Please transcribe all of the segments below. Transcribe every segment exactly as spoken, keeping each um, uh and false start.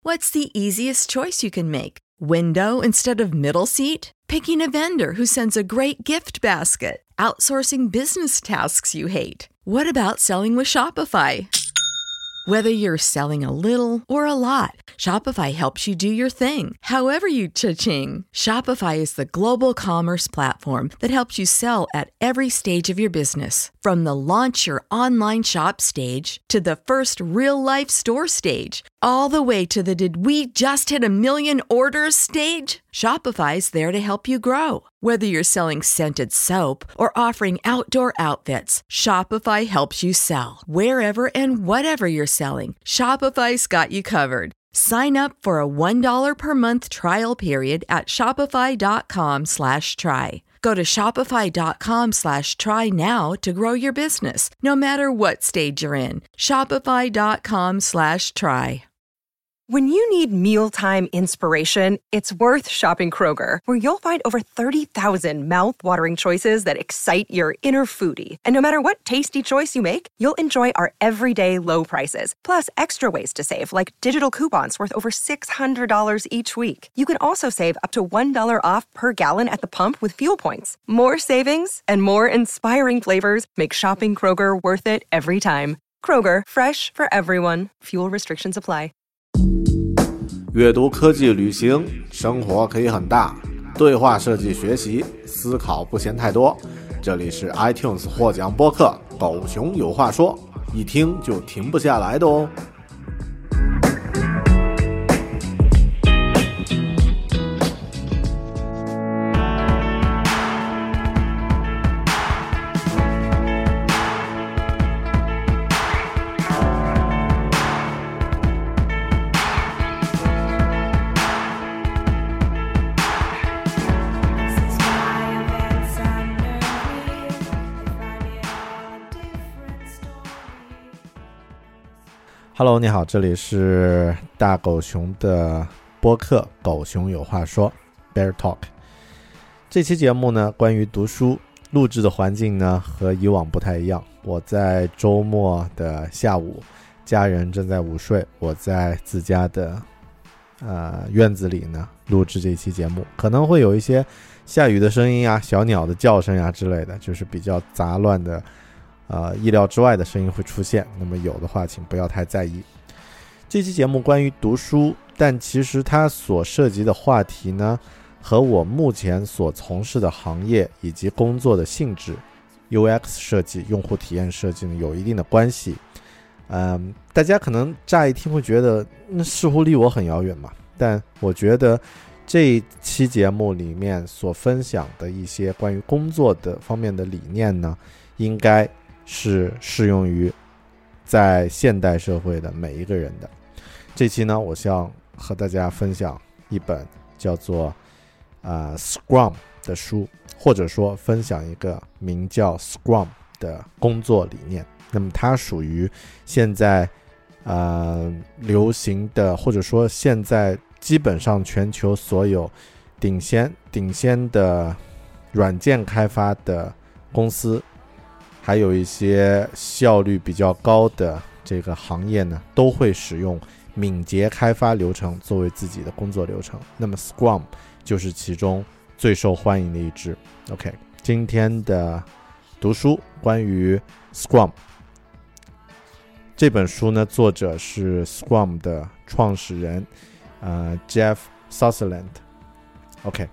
What's the easiest choice you can make? Window instead of middle seat? Picking a vendor who sends a great gift basket? Outsourcing business tasks you hate? What about selling with Shopify? Whether you're selling a little or a lot, Shopify helps you do your thing, however you cha-ching. Shopify is the global commerce platform that helps you sell at every stage of your business. From the launch your online shop stage to the first real-life store stage, all the way to the did we just hit a million orders stage? Shopify's there to help you grow. Whether you're selling scented soap or offering outdoor outfits, Shopify helps you sell. Wherever and whatever you're selling, Shopify's got you covered. Sign up for a one dollar per month trial period at shopify.com slash try. Go to shopify.com slash try now to grow your business, no matter what stage you're in. Shopify.com slash try. When you need mealtime inspiration, it's worth shopping Kroger, where you'll find over thirty thousand mouth-watering choices that excite your inner foodie. And no matter what tasty choice you make, you'll enjoy our everyday low prices, plus extra ways to save, like digital coupons worth over six hundred dollars each week. You can also save up to one dollar off per gallon at the pump with fuel points. More savings and more inspiring flavors make shopping Kroger worth it every time. Kroger, fresh for everyone. Fuel restrictions apply. 阅读、科技、旅行，生活可以很大。对话设计学习，思考不嫌太多。这里是 iTunes 获奖播客《狗熊有话说》，一听就停不下来的哦。Hello， 你好，这里是大狗熊的播客《狗熊有话说》Bear Talk。这期节目呢，关于读书，录制的环境呢和以往不太一样。我在周末的下午，家人正在午睡，我在自家的呃院子里呢录制这期节目，可能会有一些下雨的声音啊、小鸟的叫声啊之类的，就是比较杂乱的。呃，意料之外的声音会出现，那么有的话请不要太在意。这期节目关于读书，但其实它所涉及的话题呢，和我目前所从事的行业以及工作的性质 U X 设计、用户体验设计呢有一定的关系。嗯，大家可能乍一听会觉得那似乎离我很遥远嘛，但我觉得这一期节目里面所分享的一些关于工作的方面的理念呢，应该是适用于在现代社会的每一个人的。这期呢，我想和大家分享一本叫做、呃、Scrum 的书，或者说分享一个名叫 Scrum 的工作理念。那么它属于现在呃流行的，或者说现在基本上全球所有顶先顶先的软件开发的公司，还有一些效率比较高的这个行业呢，都会使用敏捷开发流程作为自己的工作流程。那么 Scrum 就是其中最受欢迎的一支。OK， 今天的读书关于 Scrum 这本书呢，作者是 Scrum 的创始人呃 Jeff Sutherland。OK。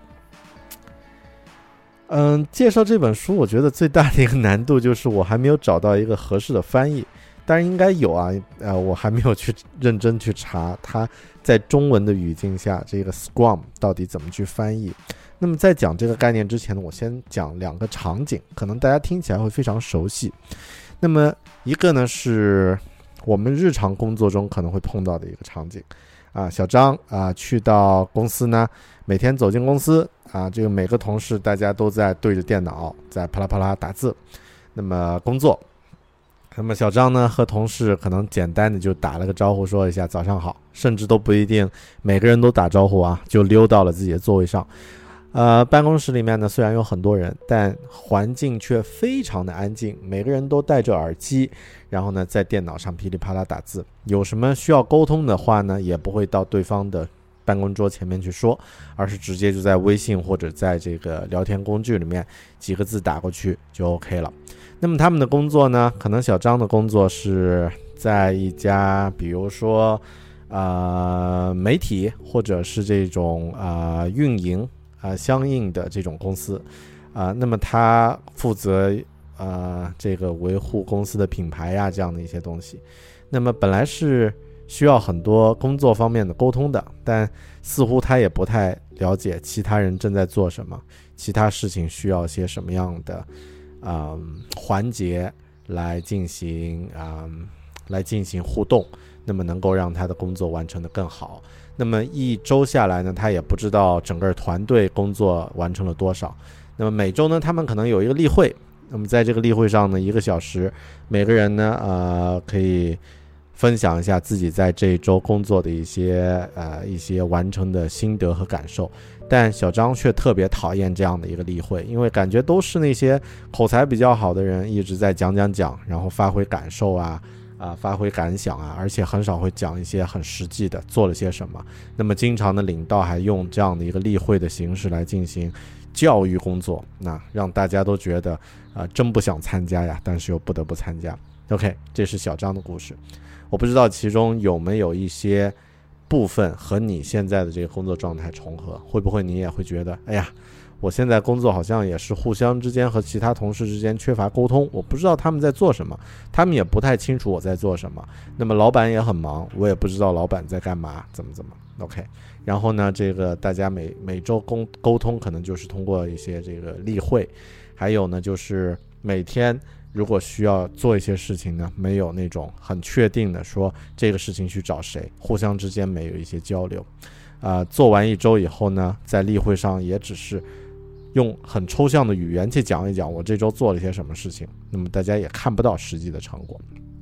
嗯，介绍这本书我觉得最大的一个难度就是我还没有找到一个合适的翻译，当然应该有啊，呃，我还没有去认真去查它在中文的语境下这个 Scrum 到底怎么去翻译。那么在讲这个概念之前呢，我先讲两个场景，可能大家听起来会非常熟悉。那么一个呢是我们日常工作中可能会碰到的一个场景啊，小张啊去到公司呢，每天走进公司啊，这个每个同事大家都在对着电脑在啪啦啪啦打字，那么工作。那么小张呢和同事可能简单的就打了个招呼，说一下早上好，甚至都不一定每个人都打招呼啊，就溜到了自己的座位上。 呃，办公室里面呢虽然有很多人，但环境却非常的安静，每个人都戴着耳机，然后呢在电脑上噼里啪啦打字，有什么需要沟通的话呢，也不会到对方的办公桌前面去说，而是直接就在微信或者在这个聊天工具里面几个字打过去就 OK 了。那么他们的工作呢，可能小张的工作是在一家比如说呃媒体或者是这种呃运营呃相应的这种公司啊、呃，那么他负责呃这个维护公司的品牌呀这样的一些东西。那么本来是需要很多工作方面的沟通的，但似乎他也不太了解其他人正在做什么，其他事情需要些什么样的嗯环节来进行嗯来进行互动，那么能够让他的工作完成得更好。那么一周下来呢，他也不知道整个团队工作完成了多少。那么每周呢，他们可能有一个例会，那么在这个例会上呢，一个小时，每个人呢呃可以分享一下自己在这一周工作的一些呃一些完成的心得和感受。但小张却特别讨厌这样的一个例会，因为感觉都是那些口才比较好的人一直在讲讲讲，然后发挥感受啊啊、呃、发挥感想啊，而且很少会讲一些很实际的做了些什么。那么经常的领导还用这样的一个例会的形式来进行教育工作，那让大家都觉得啊、呃、真不想参加呀，但是又不得不参加。 OK， 这是小张的故事。我不知道其中有没有一些部分和你现在的这个工作状态重合，会不会你也会觉得哎呀，我现在工作好像也是互相之间和其他同事之间缺乏沟通，我不知道他们在做什么，他们也不太清楚我在做什么，那么老板也很忙，我也不知道老板在干嘛怎么怎么 OK。 然后呢这个大家每每周沟沟通可能就是通过一些这个例会，还有呢就是每天如果需要做一些事情呢，没有那种很确定的说这个事情去找谁，互相之间没有一些交流啊、呃。做完一周以后呢，在例会上也只是用很抽象的语言去讲一讲我这周做了些什么事情，那么大家也看不到实际的成果。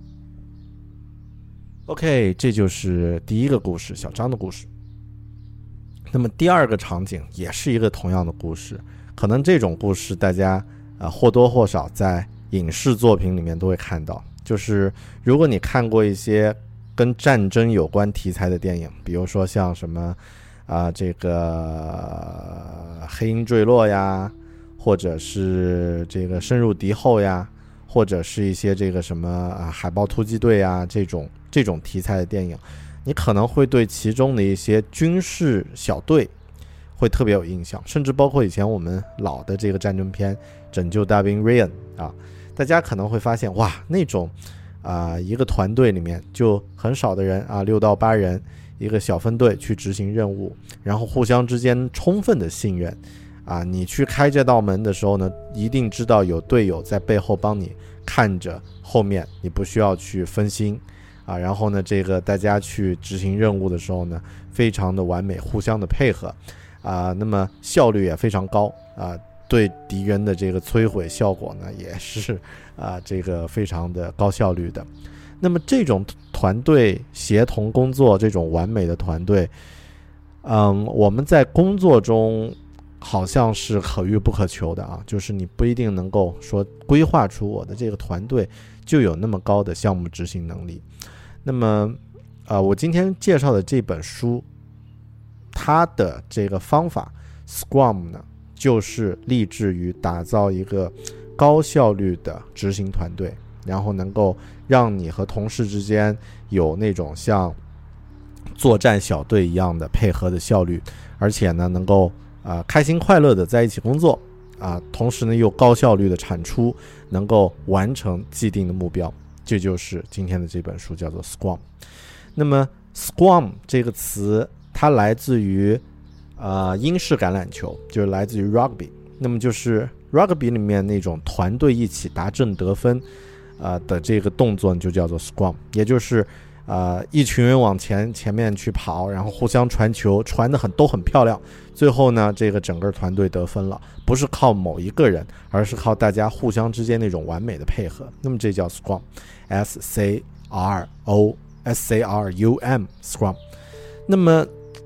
OK， 这就是第一个故事，小张的故事。那么第二个场景也是一个同样的故事，可能这种故事大家呃或多或少在影视作品里面都会看到，就是如果你看过一些跟战争有关题材的电影，比如说像什么啊、呃、这个黑鹰坠落呀，或者是这个深入敌后呀，或者是一些这个什么啊海豹突击队呀，这种这种题材的电影，你可能会对其中的一些军事小队会特别有印象，甚至包括以前我们老的这个战争片拯救大兵瑞恩啊，大家可能会发现哇，那种啊、呃、一个团队里面就很少的人啊，六到八人一个小分队去执行任务，然后互相之间充分的信任啊，你去开这道门的时候呢，一定知道有队友在背后帮你看着后面，你不需要去分心啊，然后呢这个大家去执行任务的时候呢，非常的完美，互相的配合啊，那么效率也非常高啊，对敌人的这个摧毁效果呢也是啊这个非常的高效率的。那么这种团队协同工作，这种完美的团队，嗯，我们在工作中好像是可遇不可求的啊，就是你不一定能够说规划出我的这个团队就有那么高的项目执行能力。那么啊、呃，我今天介绍的这本书，它的这个方法 Scrum 呢，就是立志于打造一个高效率的执行团队，然后能够让你和同事之间有那种像作战小队一样的配合的效率，而且呢能够啊、呃、开心快乐的在一起工作啊、呃，同时呢又高效率的产出，能够完成既定的目标。这就是今天的这本书，叫做 Scrum。 那么 Scrum 这个词它来自于呃英式橄榄球，就是来自于 Rugby。 那么就是 Rugby 里面那种团队一起达阵得分呃的这个动作就叫做 Scrum， 也就是呃一群人往前前面去跑，然后互相传球，传得很都很漂亮，最后呢这个整个团队得分了，不是靠某一个人，而是靠大家互相之间那种完美的配合，那么这叫 Scrum， S C R O S C R U M Scrum。 那么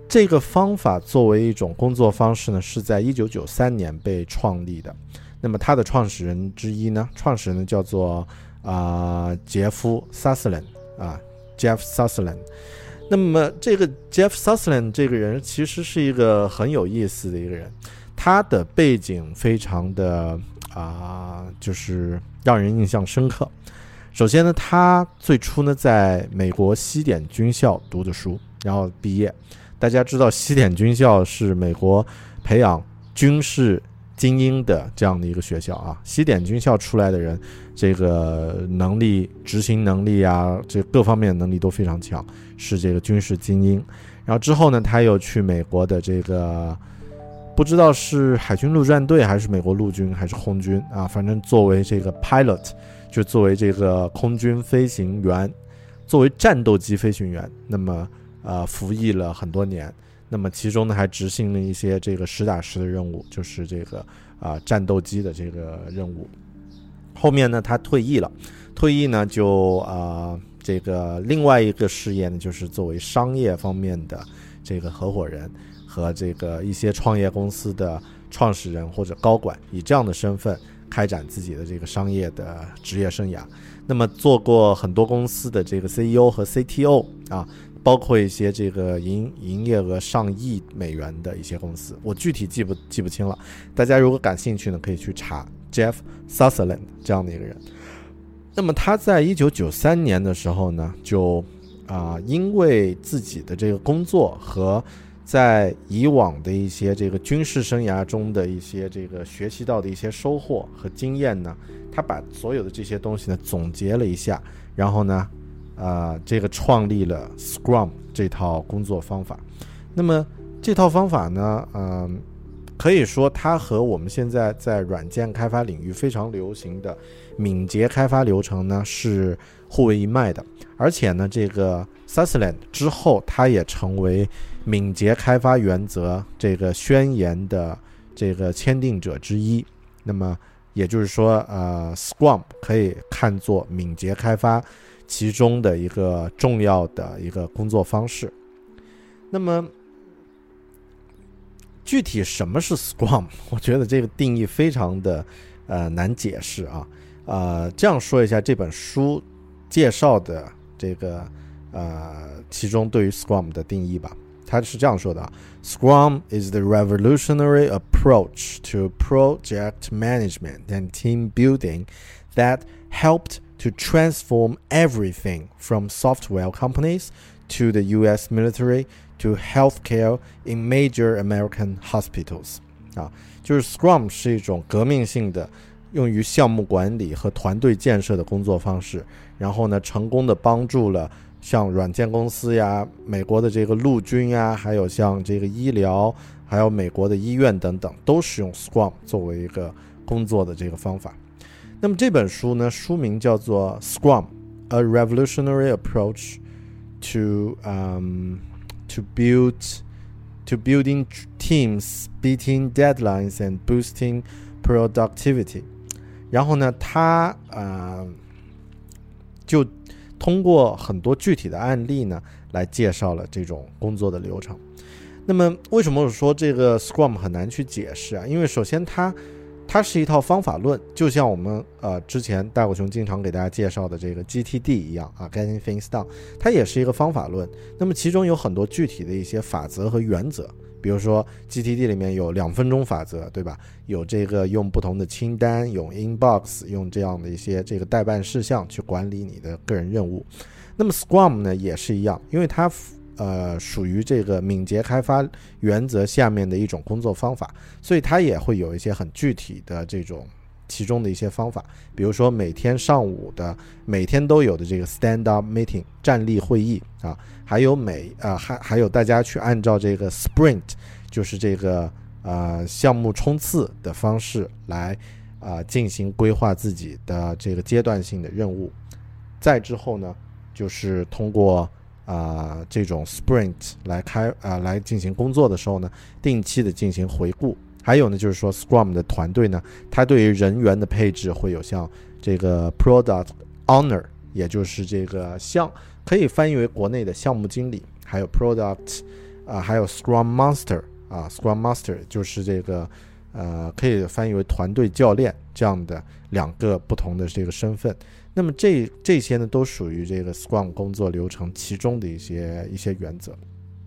这个方法作为一种工作方式呢，是在一九九三年被创立的。那么它的创始人之一呢，创始人呢叫做啊、呃、杰夫·萨斯兰啊 ，Jeff Sutherland。那么这个 Jeff Sutherland 这个人其实是一个很有意思的一个人，他的背景非常的啊、呃，就是让人印象深刻。首先呢，他最初呢在美国西点军校读的书，然后毕业。大家知道西点军校是美国培养军事精英的这样的一个学校啊，西点军校出来的人，这个能力、执行能力啊，这各方面能力都非常强，是这个军事精英。然后之后呢，他又去美国的这个不知道是海军陆战队还是美国陆军还是空军啊，反正作为这个 pilot， 就作为这个空军飞行员，作为战斗机飞行员，那么呃服役了很多年。那么其中呢还执行了一些这个实打实的任务，就是这个啊、呃、战斗机的这个任务。后面呢他退役了，退役呢就啊、呃、这个另外一个事业呢就是作为商业方面的这个合伙人和这个一些创业公司的创始人或者高管，以这样的身份开展自己的这个商业的职业生涯。那么做过很多公司的这个 C E O 和 C T O 啊，包括一些这个营营业额上亿美元的一些公司，我具体记不记不清了。大家如果感兴趣呢，可以去查 Jeff Sutherland 这样的一个人。那么他在一九九三年的时候呢，就啊、呃，因为自己的这个工作和在以往的一些这个军事生涯中的一些这个学习到的一些收获和经验呢，他把所有的这些东西呢总结了一下，然后呢呃，这个创立了 Scrum 这套工作方法。那么这套方法呢，嗯、呃，可以说它和我们现在在软件开发领域非常流行的敏捷开发流程呢是互为一脉的。而且呢，这个 Sutherland 之后，它也成为敏捷开发原则这个宣言的这个签订者之一。那么也就是说，呃 ，Scrum 可以看作敏捷开发其中的一个重要的一个工作方式。那么具体什么是 Scrum， 我觉得这个定义非常的呃难解释啊。呃，这样说一下这本书介绍的这个呃其中对于 Scrum 的定义吧。他是这样说的啊 ：Scrum is the revolutionary approach to project management and team building that helped to transform everything from software companies to the U S military to healthcare in major American hospitals. 啊，就是 Scrum 是一种革命性的用于项目管理和团队建设的工作方式，然后呢，成功的帮助了像软件公司呀、美国的这个陆军呀，还有像这个医疗，还有美国的医院等等，都使用 Scrum 作为一个工作的这个方法。那么这本书呢，书名叫做 Scrum: A Revolutionary Approach to um to build to building teams, beating deadlines and boosting productivity. 然后呢，它呃就通过很多具体的案例呢，来介绍了这种工作的流程。那么为什么我说这个 Scrum 很难去解释啊？因为首先它它是一套方法论，就像我们呃之前大狗熊经常给大家介绍的这个 G T D 一样啊 ，Getting Things Done， 它也是一个方法论。那么其中有很多具体的一些法则和原则，比如说 G T D 里面有两分钟法则，对吧？有这个用不同的清单，用 inbox， 用这样的一些这个待办事项去管理你的个人任务。那么 Scrum 呢也是一样，因为它呃，属于这个敏捷开发原则下面的一种工作方法，所以它也会有一些很具体的这种其中的一些方法，比如说每天上午的每天都有的这个 stand up meeting 站立会议啊，还有每呃还还有大家去按照这个 sprint 就是这个呃项目冲刺的方式来啊、呃、进行规划自己的这个阶段性的任务，再之后呢就是通过啊、呃，这种 sprint 来开啊、呃、来进行工作的时候呢，定期的进行回顾。还有呢，就是说 Scrum 的团队呢，它对于人员的配置会有像这个 product owner， 也就是这个项可以翻译为国内的项目经理，还有 product 啊，还有 Scrum Master 啊 ，Scrum Master 就是这个呃，可以翻译为团队教练这样的两个不同的这个身份。那么这这些呢，都属于这个 Scrum 工作流程其中的一些一些原则。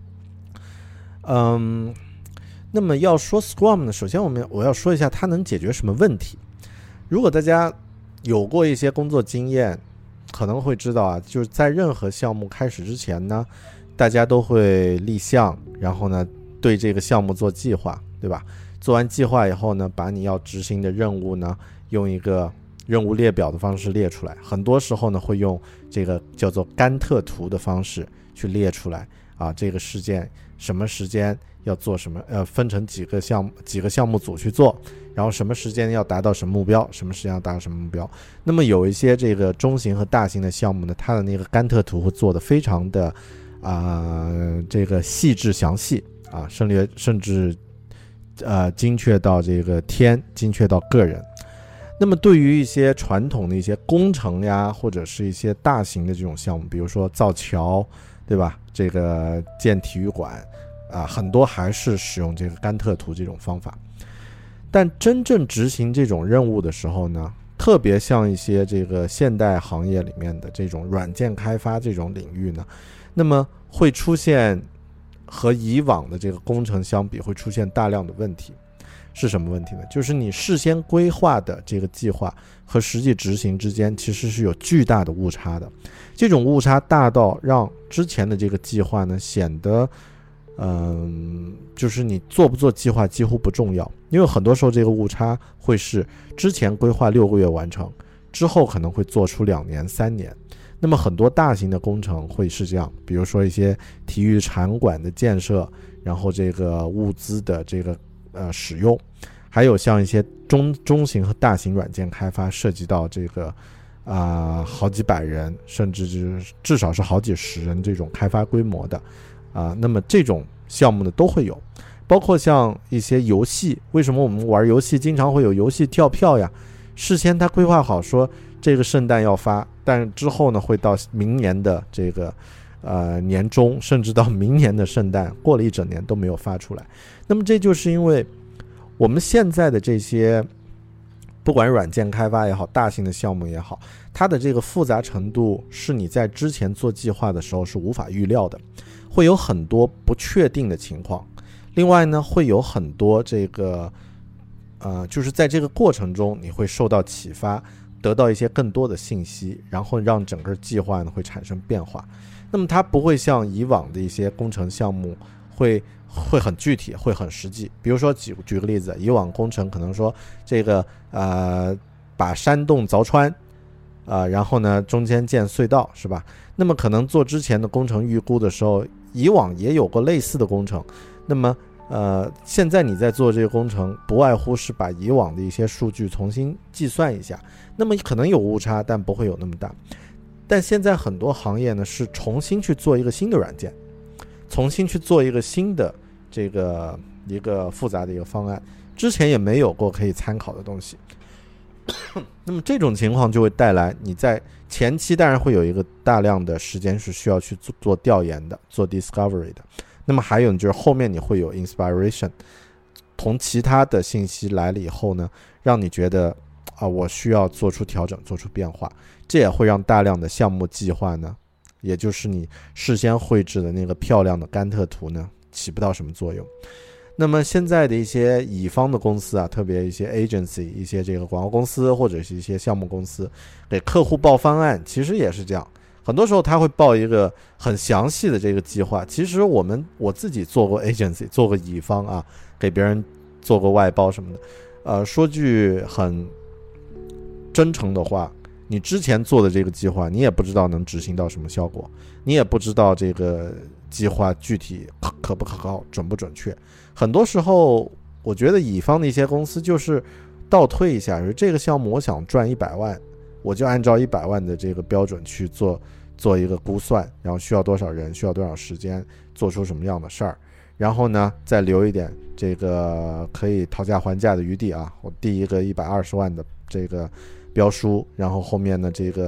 嗯，那么要说 Scrum 呢，首先我们我要说一下它能解决什么问题。如果大家有过一些工作经验，可能会知道啊，就是在任何项目开始之前呢，大家都会立项，然后呢对这个项目做计划，对吧？做完计划以后呢，把你要执行的任务呢，用一个任务列表的方式列出来。很多时候呢，会用这个叫做甘特图的方式去列出来啊，这个事件什么时间要做什么，呃，分成几个项目几个项目组去做，然后什么时间要达到什么目标，什么时间要达到什么目标。那么有一些这个中型和大型的项目呢，它的那个甘特图会做得非常的啊、呃，这个细致详细啊，甚至甚至呃精确到这个天，精确到个人。那么对于一些传统的一些工程呀，或者是一些大型的这种项目，比如说造桥，对吧？这个建体育馆啊，很多还是使用这个甘特图这种方法。但真正执行这种任务的时候呢，特别像一些这个现代行业里面的这种软件开发这种领域呢，那么会出现和以往的这个工程相比，会出现大量的问题。是什么问题呢？就是你事先规划的这个计划和实际执行之间其实是有巨大的误差的。这种误差大到让之前的这个计划呢显得嗯，就是你做不做计划几乎不重要，因为很多时候这个误差会是之前规划六个月完成，之后可能会做出两年三年。那么很多大型的工程会是这样，比如说一些体育场馆的建设，然后这个物资的这个呃使用，还有像一些中中型和大型软件开发，涉及到这个啊、呃、好几百人，甚至是至少是好几十人这种开发规模的啊、呃，那么这种项目呢都会有。包括像一些游戏，为什么我们玩游戏经常会有游戏跳票呀？事先他规划好说这个圣诞要发，但之后呢会到明年的这个呃年中，甚至到明年的圣诞，过了一整年都没有发出来。那么这就是因为我们现在的这些不管软件开发也好，大型的项目也好，它的这个复杂程度是你在之前做计划的时候是无法预料的，会有很多不确定的情况。另外呢，会有很多这个呃，就是在这个过程中你会受到启发，得到一些更多的信息，然后让整个计划呢会产生变化。那么它不会像以往的一些工程项目会会很具体，会很实际。比如说举举个例子，以往工程可能说这个呃把山洞凿穿呃然后呢中间建隧道，是吧？那么可能做之前的工程预估的时候，以往也有过类似的工程。那么呃现在你在做这个工程，不外乎是把以往的一些数据重新计算一下，那么可能有误差，但不会有那么大。但现在很多行业呢是重新去做一个新的软件，重新去做一个新的这个一个复杂的一个方案，之前也没有过可以参考的东西。那么这种情况就会带来你在前期当然会有一个大量的时间是需要去做做调研的，做 discovery 的。那么还有就是后面你会有 inspiration， 从其他的信息来了以后呢，让你觉得啊，我需要做出调整，做出变化。这也会让大量的项目计划呢，也就是你事先绘制的那个漂亮的甘特图呢，起不到什么作用。那么现在的一些乙方的公司啊，特别一些 agency， 一些这个广告公司或者是一些项目公司，给客户报方案，其实也是这样。很多时候他会报一个很详细的这个计划。其实我们我自己做过 agency， 做过乙方啊，给别人做过外包什么的。呃，说句很真诚的话，你之前做的这个计划，你也不知道能执行到什么效果，你也不知道这个计划具体可不可靠，准不准确。很多时候我觉得乙方的一些公司就是倒推一下，就是这个项目我想赚一百万，我就按照一百万的这个标准去做做一个估算，然后需要多少人，需要多少时间，做出什么样的事儿，然后呢再留一点这个可以讨价还价的余地啊。我第一个一百二十万的这个标书，然后后面呢这个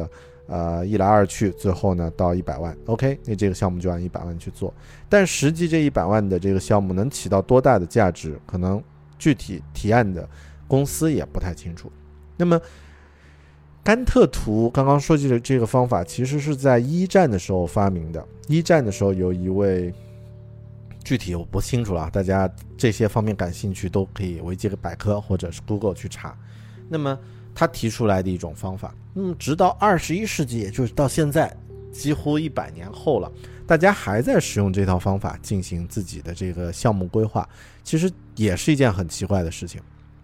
呃，一来二去，最后呢到一百万 ，OK， 那这个项目就按一百万去做。但实际这一百万的这个项目能起到多大的价值，可能具体提案的公司也不太清楚。那么甘特图刚刚说起的这个方法，其实是在一战的时候发明的。一战的时候有一位，具体我不清楚了，大家这些方面感兴趣都可以维基百科或者是 Google 去查。那么他提出来的一种方法，嗯，直到二十一世纪，也就是到现在几乎一百年后了，大家还在使用这套方法进行自己的这个项目规划，其实也是一件很奇怪的事情。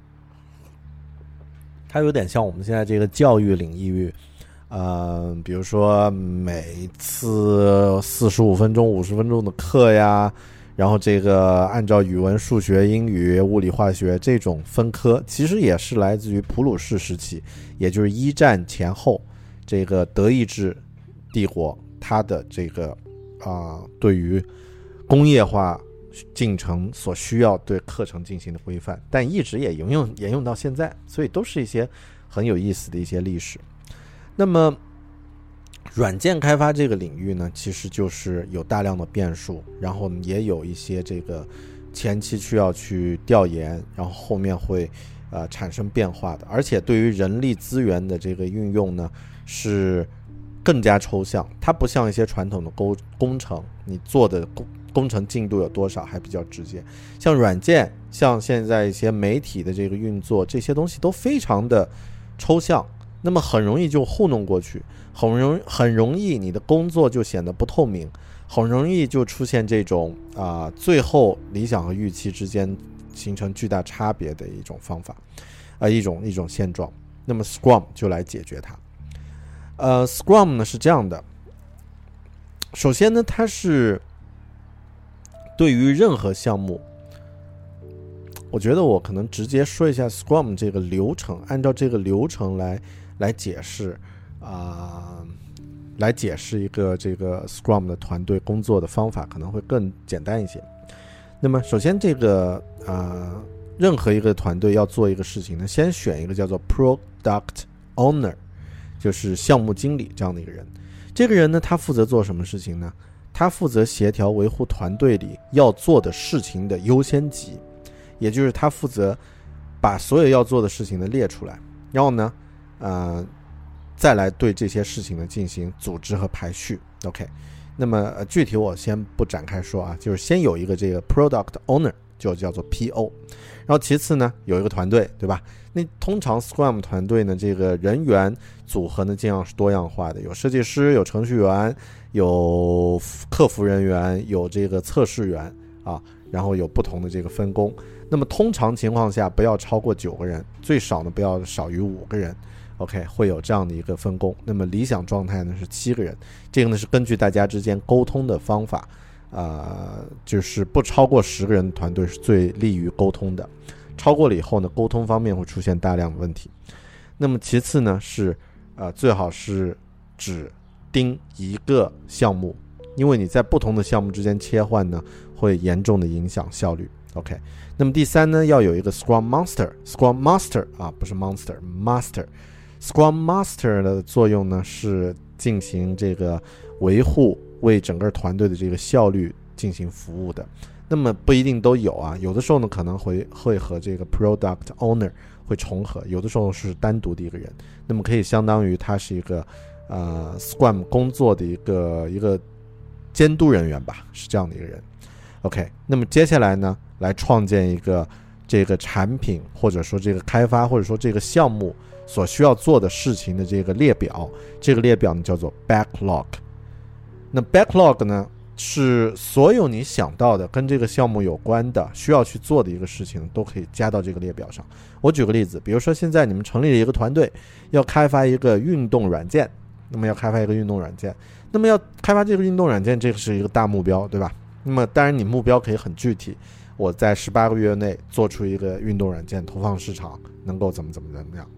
它有点像我们现在这个教育领域，呃，比如说每次四十五分钟、五十分钟的课呀，然后这个按照语文、数学、英语、物理、化学这种分科，其实也是来自于普鲁士时期，也就是一战前后，这个德意志帝国它的这个啊、呃、对于工业化进程所需要对课程进行的规范，但一直也沿用沿用到现在，所以都是一些很有意思的一些历史。那么软件开发这个领域呢，其实就是有大量的变数，然后也有一些这个前期需要去调研，然后后面会呃产生变化的，而且对于人力资源的这个运用呢是更加抽象，它不像一些传统的工工程，你做的工工程进度有多少还比较直接，像软件，像现在一些媒体的这个运作，这些东西都非常的抽象，那么很容易就糊弄过去，很容很容易你的工作就显得不透明，很容易就出现这种啊、呃、最后理想和预期之间形成巨大差别的一种方法，呃一种一种现状。那么 Scrum 就来解决它。呃 Scrum 呢是这样的，首先呢它是对于任何项目，我觉得我可能直接说一下 Scrum 这个流程，按照这个流程来来解释啊、呃，来解释一个这个 Scrum 的团队工作的方法可能会更简单一些。那么首先这个啊、呃，任何一个团队要做一个事情呢，先选一个叫做 Product Owner， 就是项目经理这样的一个人。这个人呢，他负责做什么事情呢？他负责协调维护团队里要做的事情的优先级，也就是他负责把所有要做的事情呢列出来，然后呢呃，再来对这些事情呢进行组织和排序。 OK， 那么、呃、具体我先不展开说啊，就是先有一个这个 Product Owner， 就叫做 P O， 然后其次呢有一个团队，对吧？那通常 Scrum 团队呢这个人员组合呢尽量是多样化的，有设计师，有程序员，有客服人员，有这个测试员啊，然后有不同的这个分工。那么通常情况下不要超过九个人，最少呢不要少于五个人。 OK， 会有这样的一个分工。那么理想状态呢是七个人，这个呢是根据大家之间沟通的方法，呃，就是不超过十个人的团队是最利于沟通的，超过了以后呢沟通方面会出现大量的问题。那么其次呢是呃最好是只盯一个项目，因为你在不同的项目之间切换呢会严重的影响效率。 OK， 那么第三呢要有一个 Scrum Master Scrum Master 啊，不是 Monster Master Scrum Master 的作用呢是进行这个维护，为整个团队的这个效率进行服务的。那么不一定都有啊，有的时候呢可能会会和这个 Product Owner 会重合，有的时候是单独的一个人，那么可以相当于他是一个呃 Scrum 工作的一个一个监督人员吧，是这样的一个人。 OK， 那么接下来呢来创建一个这个产品，或者说这个开发，或者说这个项目所需要做的事情的这个列表，这个列表呢叫做 backlog。 那 backlog 呢是所有你想到的跟这个项目有关的需要去做的一个事情都可以加到这个列表上。我举个例子，比如说现在你们成立了一个团队，要开发一个运动软件，那么要开发一个运动软件，那么要开发这个运动软件，这个是一个大目标，对吧？那么当然你目标可以很具体，我在十八个月内做出一个运动软件投放市场，能够怎么怎么怎么样。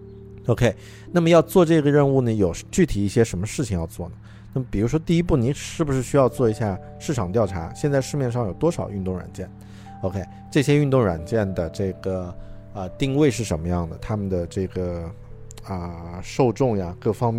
OK， 那么要做这个任务呢有具体一些什么事情要做呢？那么比如说第一步，你是不是需要做一下市场调查，现在市面上有多少运动软件？ OK， 这些运动软件的这个呃定位是什么样的，他们的这个啊、呃、受众呀各方面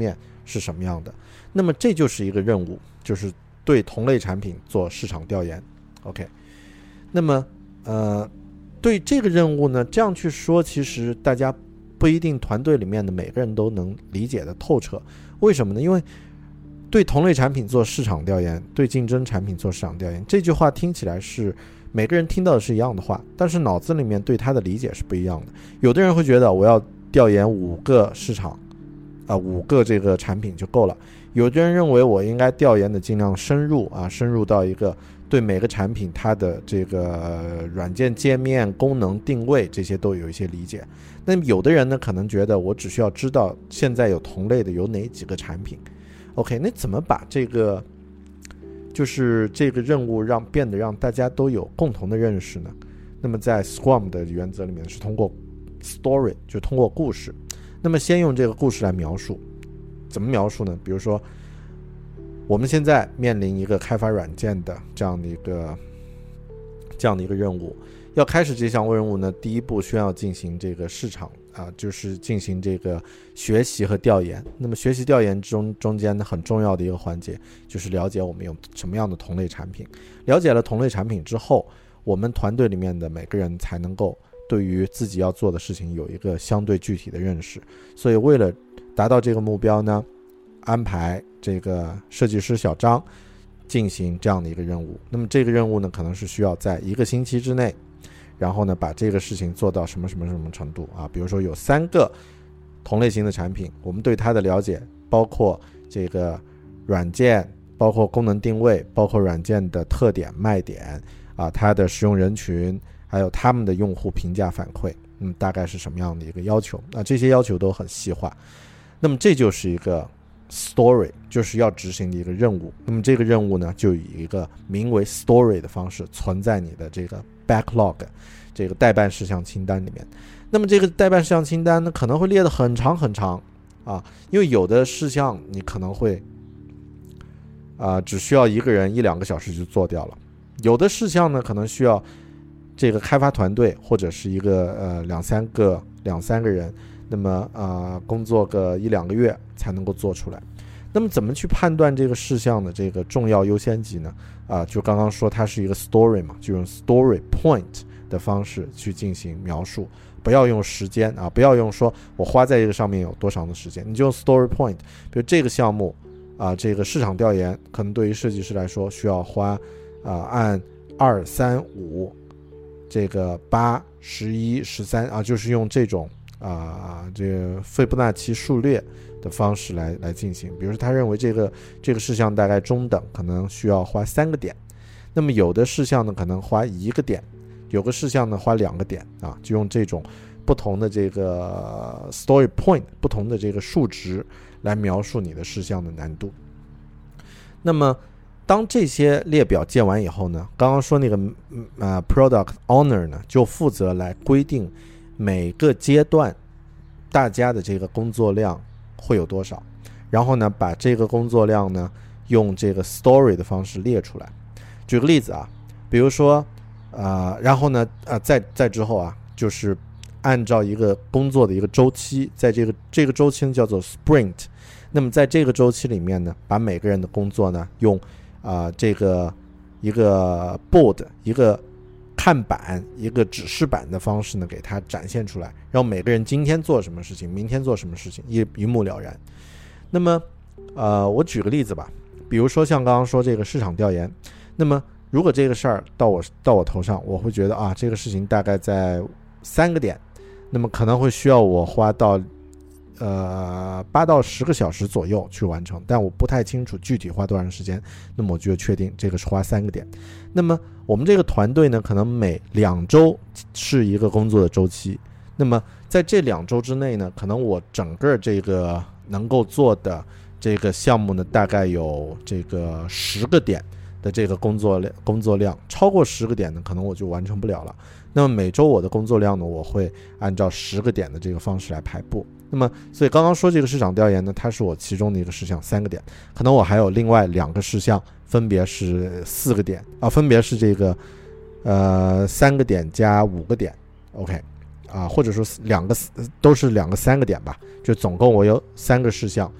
是什么样的。那么这就是一个任务，就是对同类产品做市场调研。 OK， 那么呃，对这个任务呢，这样去说其实大家不一定团队里面的每个人都能理解的透彻。为什么呢？因为对同类产品做市场调研，对竞争产品做市场调研，这句话听起来是每个人听到的是一样的话，但是脑子里面对它的理解是不一样的。有的人会觉得我要调研五个市场啊、呃，五个这个产品就够了。有的人认为我应该调研的尽量深入啊，深入到一个对每个产品它的这个软件界面、功能定位这些都有一些理解。那么有的人呢，可能觉得我只需要知道现在有同类的有哪几个产品。OK， 那怎么把这个就是这个任务让变得让大家都有共同的认识呢？那么在 Scrum 的原则里面是通过 story， 就通过故事。那么先用这个故事来描述，怎么描述呢？比如说我们现在面临一个开发软件的这样的一个这样的一个任务，要开始这项任务呢，第一步需要进行这个市场啊，就是进行这个学习和调研。那么学习调研中中间呢，很重要的一个环节就是了解我们有什么样的同类产品。了解了同类产品之后，我们团队里面的每个人才能够对于自己要做的事情有一个相对具体的认识。所以为了达到这个目标呢，安排这个设计师小张进行这样的一个任务。那么这个任务呢，可能是需要在一个星期之内，然后呢把这个事情做到什么什么什么程度啊？比如说有三个同类型的产品，我们对它的了解包括这个软件，包括功能定位，包括软件的特点卖点啊，它的使用人群，还有他们的用户评价反馈，嗯，大概是什么样的一个要求？那这些要求都很细化。那么这就是一个 story， 就是要执行的一个任务。那么这个任务呢，就以一个名为 story 的方式存在你的这个 backlog， 这个待办事项清单里面。那么这个待办事项清单呢，可能会列得很长很长啊，因为有的事项你可能会啊、呃、只需要一个人一两个小时就做掉了，有的事项呢可能需要这个开发团队或者是一个呃两三个两三个人，那么啊、呃、工作个一两个月才能够做出来。那么怎么去判断这个事项的这个重要优先级呢？啊、呃，就刚刚说它是一个 story 嘛，就用 story point 的方式去进行描述，不要用时间啊，不要用说我花在这个上面有多长的时间，你就用 story point。比如这个项目啊、呃，这个市场调研可能对于设计师来说需要花啊、呃、按二三五这个八十一十三啊，就是用这种啊、呃、这个斐波那契数列的方式来来进行。比如说他认为这个这个事项大概中等，可能需要花三个点，那么有的事项呢可能花一个点，有个事项呢花两个点啊，就用这种不同的这个 story point 不同的这个数值来描述你的事项的难度。那么当这些列表建完以后呢，刚刚说那个呃 product owner 呢就负责来规定每个阶段大家的这个工作量会有多少，然后呢把这个工作量呢用这个 story 的方式列出来。举个例子啊，比如说呃，然后呢呃再再之后啊，就是按照一个工作的一个周期，在这个这个周期呢叫做 sprint。那么在这个周期里面呢，把每个人的工作呢用啊、呃、这个一个 board 一个看板一个指示板的方式呢给它展现出来，让每个人今天做什么事情，明天做什么事情，一一目了然。那么呃我举个例子吧，比如说像刚刚说这个市场调研，那么如果这个事儿到我到我头上，我会觉得啊这个事情大概在三个点，那么可能会需要我花到呃八到十个小时左右去完成，但我不太清楚具体花多长时间，那么我就确定这个是花三个点。那么我们这个团队呢，可能每两周是一个工作的周期，那么在这两周之内呢，可能我整个这个能够做的这个项目呢，大概有这个十个点的这个工作量，工作量超过十个点呢，可能我就完成不了了。那么每周我的工作量呢，我会按照十个点的这个方式来排布。那么所以刚刚说这个市场调研呢，它是我其中的一个事项，三个点，可能我还有另外两个事项，分别是四个点啊，分别是这个呃三个点加五个点 OK 啊，或者说两个都是两个三个点吧，就总共我有三个事项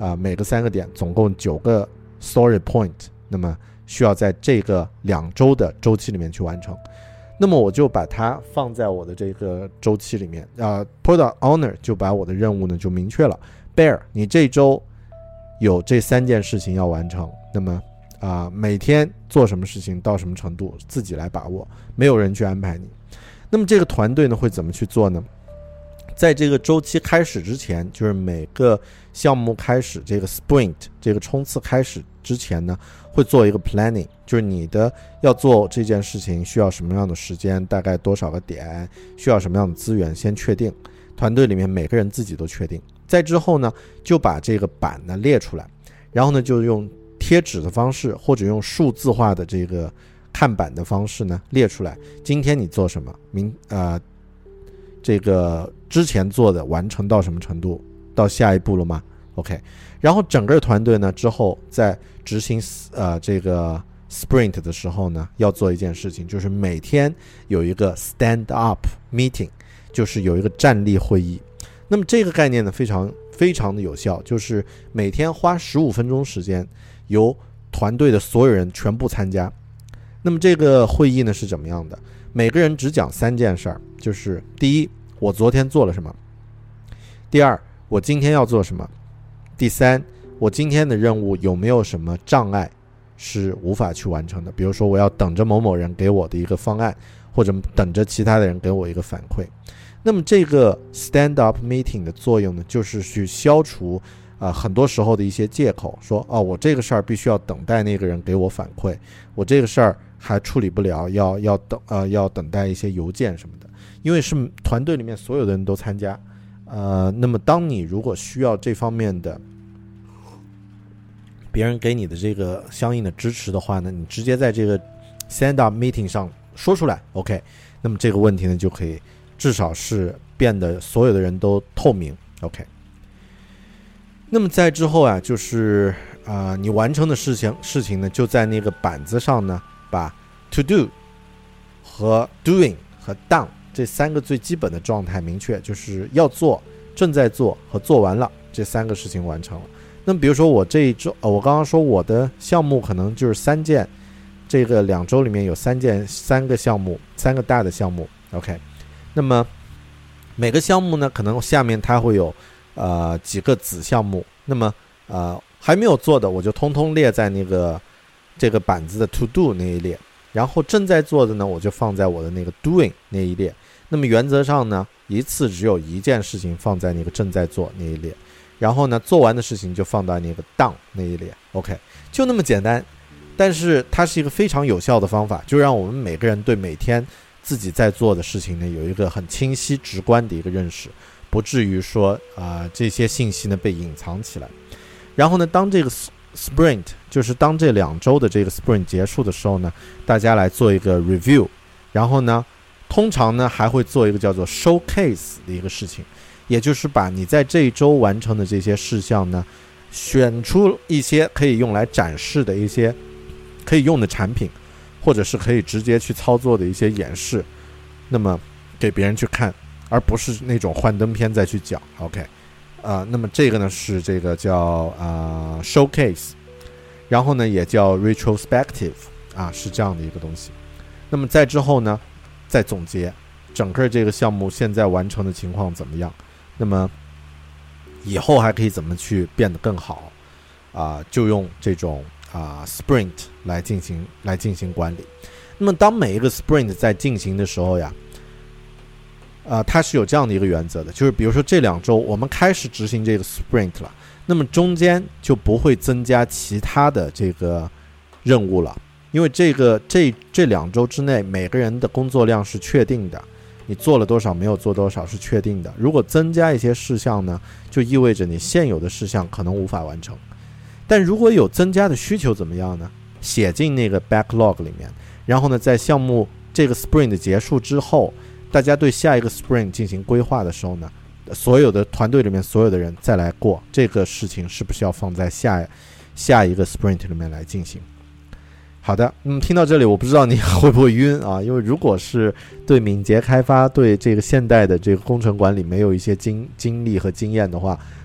呃、每个三个点总共九个 story point， 那么需要在这个两周的周期里面去完成。那么我就把它放在我的这个周期里面，呃 Product Owner 就把我的任务呢就明确了， Bear 你这周有这三件事情要完成，那么啊、呃，每天做什么事情到什么程度自己来把握，没有人去安排你。那么这个团队呢会怎么去做呢？在这个周期开始之前，就是每个项目开始这个 sprint 这个冲刺开始之前呢，会做一个 planning， 就是你的要做这件事情需要什么样的时间，大概多少个点，需要什么样的资源，先确定，团队里面每个人自己都确定。再之后呢，就把这个板呢列出来，然后呢就用贴纸的方式或者用数字化的这个看板的方式呢列出来，今天你做什么，明呃这个之前做的完成到什么程度，到下一步了吗 OK， 然后整个团队呢之后在执行呃这个 sprint 的时候呢，要做一件事情，就是每天有一个 stand up meeting， 就是有一个站立会议。那么这个概念呢非常非常的有效，就是每天花十五分钟时间，由团队的所有人全部参加。那么这个会议呢是怎么样的？每个人只讲三件事儿，就是第一，我昨天做了什么；第二，我今天要做什么；第三，我今天的任务有没有什么障碍是无法去完成的，比如说我要等着某某人给我的一个方案，或者等着其他的人给我一个反馈。那么这个 stand up meeting 的作用呢，就是去消除啊、呃、很多时候的一些借口，说哦我这个事儿必须要等待那个人给我反馈，我这个事儿还处理不了，要要等呃要等待一些邮件什么的，因为是团队里面所有的人都参加，呃，那么当你如果需要这方面的别人给你的这个相应的支持的话呢，你直接在这个 stand up meeting 上说出来 OK， 那么这个问题呢就可以至少是变得所有的人都透明 OK。 那么在之后啊，就是啊、呃，你完成的事情事情呢就在那个板子上呢把 to do 和 doing 和 done 这三个最基本的状态明确，就是要做、正在做和做完了这三个事情完成了。那么比如说我这一周、呃、我刚刚说我的项目可能就是三件，这个两周里面有三件三个项目，三个大的项目 OK。 那么每个项目呢可能下面它会有呃几个子项目，那么呃还没有做的我就通通列在那个这个板子的 to do 那一列，然后正在做的呢我就放在我的那个 doing 那一列。那么原则上呢一次只有一件事情放在那个正在做那一列，然后呢做完的事情就放到那个 done 那一列 OK， 就那么简单。但是它是一个非常有效的方法，就让我们每个人对每天自己在做的事情呢有一个很清晰直观的一个认识，不至于说啊、呃、这些信息呢被隐藏起来。然后呢当这个 sprint 就是当这两周的这个 sprint 结束的时候呢，大家来做一个 review， 然后呢通常呢还会做一个叫做 showcase 的一个事情，也就是把你在这一周完成的这些事项呢选出一些可以用来展示的一些可以用的产品，或者是可以直接去操作的一些演示，那么给别人去看，而不是那种幻灯片再去讲 OK。 呃，那么这个呢是这个叫呃 showcase， 然后呢也叫 retrospective 啊，是这样的一个东西。那么在之后呢再总结整个这个项目现在完成的情况怎么样，那么以后还可以怎么去变得更好啊、呃，就用这种啊、呃、sprint 来进行来进行管理。那么当每一个 sprint 在进行的时候呀，啊、呃，它是有这样的一个原则的，就是比如说这两周我们开始执行这个 sprint 了，那么中间就不会增加其他的这个任务了，因为这个这这两周之内每个人的工作量是确定的，你做了多少没有做多少是确定的。如果增加一些事项呢，就意味着你现有的事项可能无法完成。但如果有增加的需求怎么样呢？写进那个 backlog 里面，然后呢在项目这个 sprint 结束之后，大家对下一个 sprint 进行规划的时候呢，所有的团队里面所有的人再来过这个事情是不是要放在下下一个 sprint 里面来进行。好的，那么听到这里我不知道你会不会晕啊？因为如果是对敏捷开发对这个现代的这个工程管理没有一些经经历和经验的话，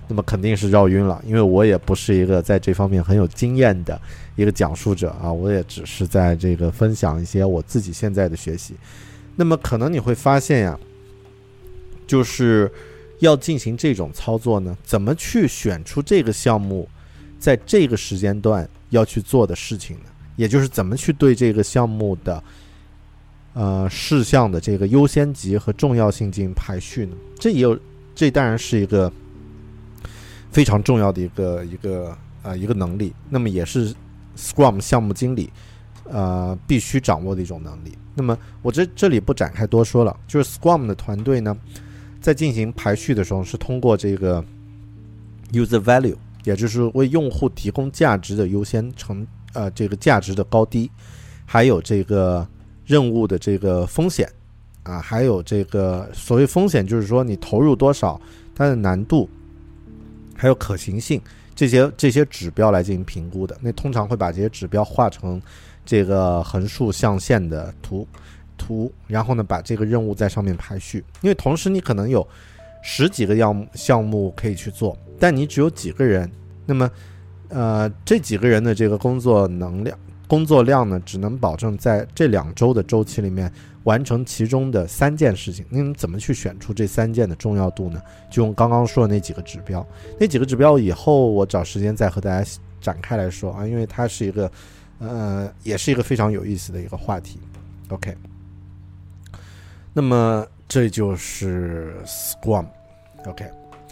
那么肯定是绕晕了，因为我也不是一个在这方面很有经验的一个讲述者啊，我也只是在这个分享一些我自己现在的学习。那么可能你会发现呀，就是要进行这种操作呢，怎么去选出这个项目在这个时间段要去做的事情呢？也就是怎么去对这个项目的呃事项的这个优先级和重要性进行排序呢？这也有，这当然是一个非常重要的一个一个呃一个能力，那么也是 Scrum 项目经理呃必须掌握的一种能力。那么我这这里不展开多说了，就是 Scrum 的团队呢，在进行排序的时候是通过这个 user value， 也就是为用户提供价值的优先程呃这个价值的高低，还有这个任务的这个风险啊，还有这个所谓风险就是说你投入多少，它的难度还有可行性，这些这些指标来进行评估的。那通常会把这些指标画成这个横竖象限的图图，然后呢把这个任务在上面排序。因为同时你可能有十几个项目项目可以去做，但你只有几个人，那么呃这几个人的这个工作能量工作量呢，只能保证在这两周的周期里面完成其中的三件事情。那你怎么去选出这三件的重要度呢？就用刚刚说的那几个指标，那几个指标以后我找时间再和大家展开来说啊，因为它是一个呃也是一个非常有意思的一个话题。 OK， 那么这就是 Scrum。 OK，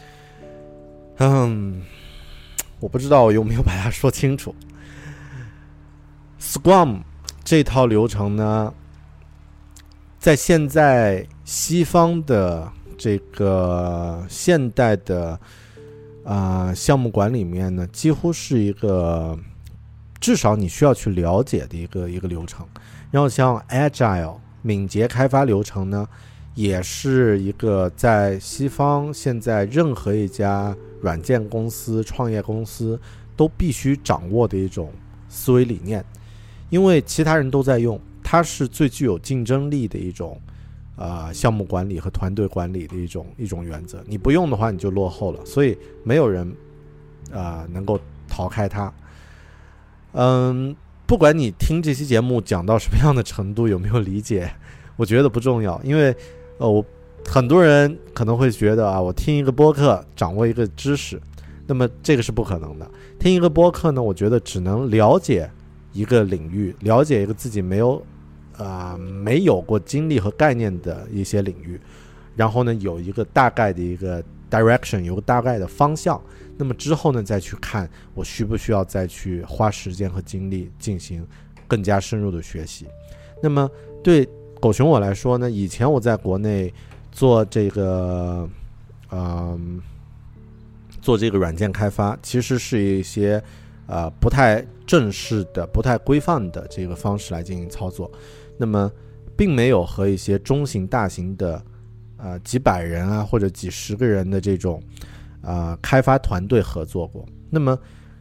嗯，我不知道我有没有把它说清楚。Scrum 这套流程呢，在现在西方的这个现代的啊、呃、项目管理里面呢，几乎是一个至少你需要去了解的一个一个流程。然后像 Agile 敏捷开发流程呢，也是一个在西方现在任何一家软件公司、创业公司都必须掌握的一种思维理念。因为其他人都在用，它是最具有竞争力的一种呃项目管理和团队管理的一种一种原则。你不用的话你就落后了，所以没有人呃能够逃开它。嗯，不管你听这期节目讲到什么样的程度，有没有理解，我觉得不重要。因为呃我很多人可能会觉得啊，我听一个播客掌握一个知识，那么这个是不可能的。听一个播客呢，我觉得只能了解一个领域，了解一个自己没有呃没有过经历和概念的一些领域，然后呢有一个大概的一个 direction， 有个大概的方向，那么之后呢再去看我需不需要再去花时间和精力进行更加深入的学习。那么对狗熊我来说呢，以前我在国内做这个呃做这个软件开发，其实是一些呃不太正式的、不太规范的这个方式来进行操作，那么并没有和一些中型、大型的呃几百人啊或者几十个人的这种呃开发团队合作过。那么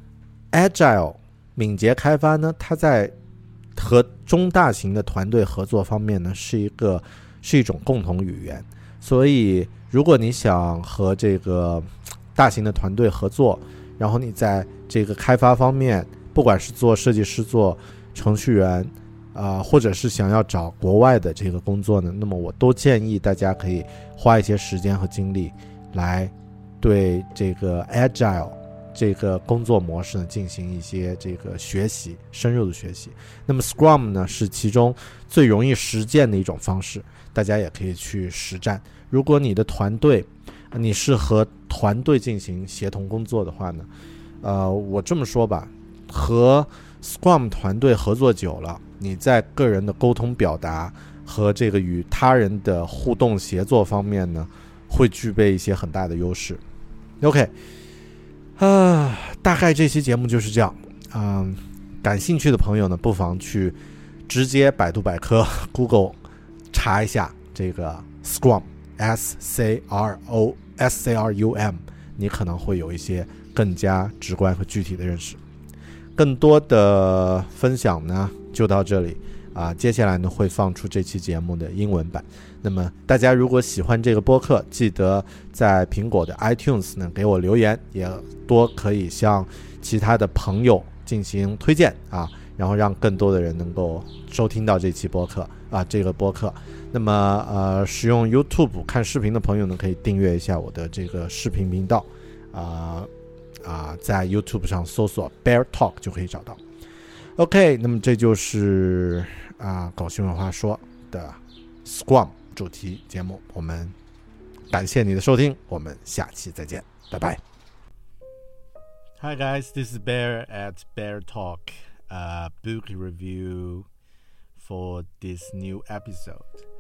Agile 敏捷开发呢，它在和中大型的团队合作方面呢，是一个是一种共同语言。所以如果你想和这个大型的团队合作，然后你在这个开发方面，不管是做设计师、做程序员啊、呃，或者是想要找国外的这个工作呢，那么我都建议大家可以花一些时间和精力来对这个 Agile 这个工作模式呢进行一些这个学习，深入的学习。那么 Scrum 呢是其中最容易实践的一种方式，大家也可以去实战。如果你的团队你是和团队进行协同工作的话呢，呃，我这么说吧，和 Scrum 团队合作久了，你在个人的沟通表达和这个与他人的互动协作方面呢，会具备一些很大的优势。OK， 啊，大概这期节目就是这样。嗯，感兴趣的朋友呢，不妨去直接百度百科 Google 查一下这个 Scrum S C R O S C R U M， 你可能会有一些更加直观和具体的认识。更多的分享呢就到这里， 啊，接下来呢会放出这期节目的英文版。那么大家如果喜欢这个播客，记得在苹果的 iTunes 呢给我留言，也多可以向其他的朋友进行推荐啊，然后让更多的人能够收听到这期播客啊，这个播客。那么呃，使用 YouTube 看视频的朋友呢，可以订阅一下我的这个视频频道啊啊，在 YouTube 上搜索 Bear Talk 就可以找到。OK， 那么这就是啊狗熊有话说的 Scrum 主题节目，我们感谢你的收听，我们下期再见，拜拜。Hi guys, this is Bear at Bear Talk, uh, book review for this new episode.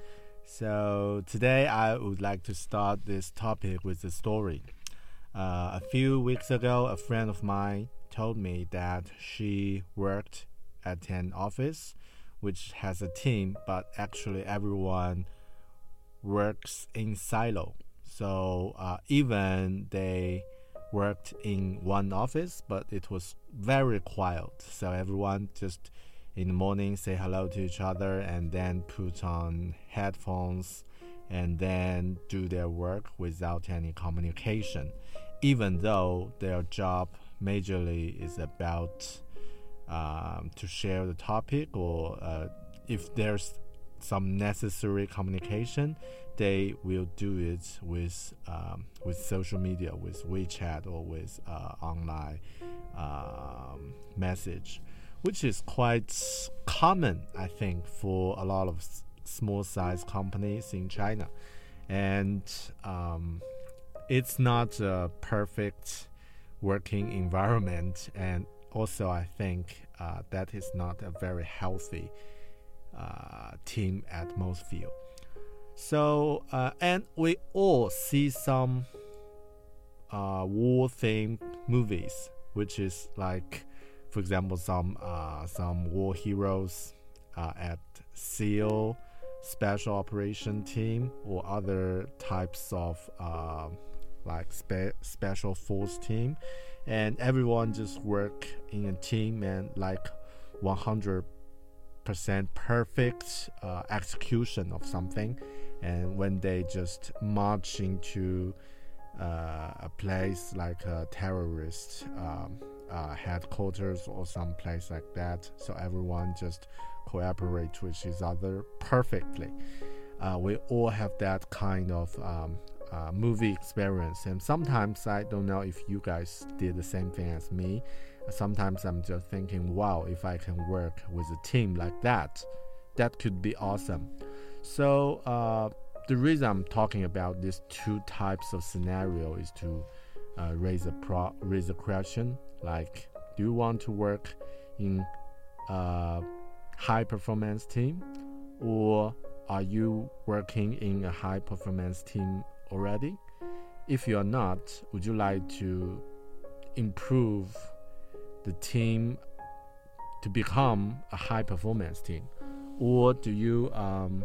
So today I would like to start this topic with a story. Uh, a few weeks ago, a friend of mine told me that she worked at an office which has a team, but actually everyone works in silo. So uh, even they worked in one office, but it was very quiet. So everyone just in the morning say hello to each other and then put on headphones and then do their work without any communication, even though their job majorly is about um, to share the topic, or uh, if there's some necessary communication, they will do it with um, with social media, with WeChat or with uh, online um, message, which is quite common, I think, for a lot of s- small-sized companies in China. And um, it's not a perfect working environment, and also I think uh, that is not a very healthy uh, team atmosphere. So uh, and we all see some uh, war-themed movies, which is like, for example, some uh, some war heroes uh, at SEAL, Special Operation Team, or other types of uh, like spe- special force team, and everyone just work in a team and like one hundred percent perfect uh, execution of something. And when they just march into uh, a place like a terrorist um, uh, headquarters or some place like that, so everyone just cooperate with each other perfectly. Uh, we all have that kind of um, uh, movie experience, and sometimes I don't know if you guys did the same thing as me. Sometimes I'm just thinking, wow, if I can work with a team like that, that could be awesome. So uh, the reason I'm talking about these two types of scenario is to uh, raise a pro- raise a question like, do you want to work in a high performance team, or are you working in a high performance team already? If you are not, would you like to improve the team to become a high performance team, or do you um,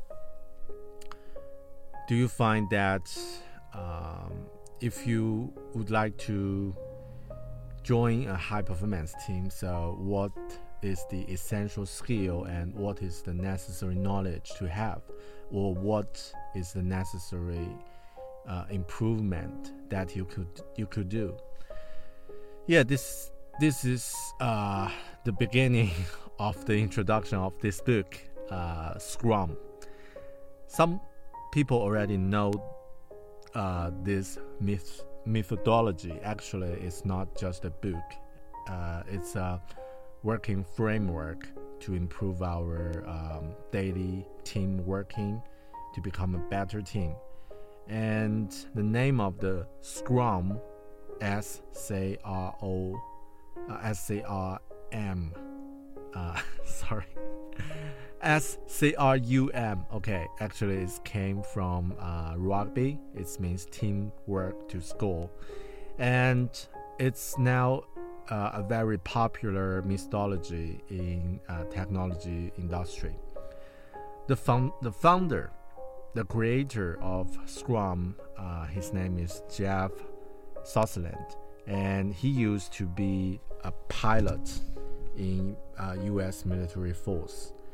do you find that um, if you would like to join a high performance team, so what is the essential skill and what is the necessary knowledge to have, or what is the necessary uh, improvement that you could you could do? Yeah, this this is uh, the beginning of the introduction of this book, uh, Scrum. Some people already know uh, this myth, methodology. Actually, it's not just a book. Uh, it's a working framework to improve our um, daily team working to become a better team. And the name of the Scrum, S C R O, uh, S C R M, uh, sorry, S C R U M. Okay, actually it came from uh, rugby. It means teamwork to score, and it's now uh, a very popular methodology in uh, technology industry. The found, the founder, the creator of Scrum, uh, his name is Jeff Sutherland, and he used to be a pilot in uh, U S military force.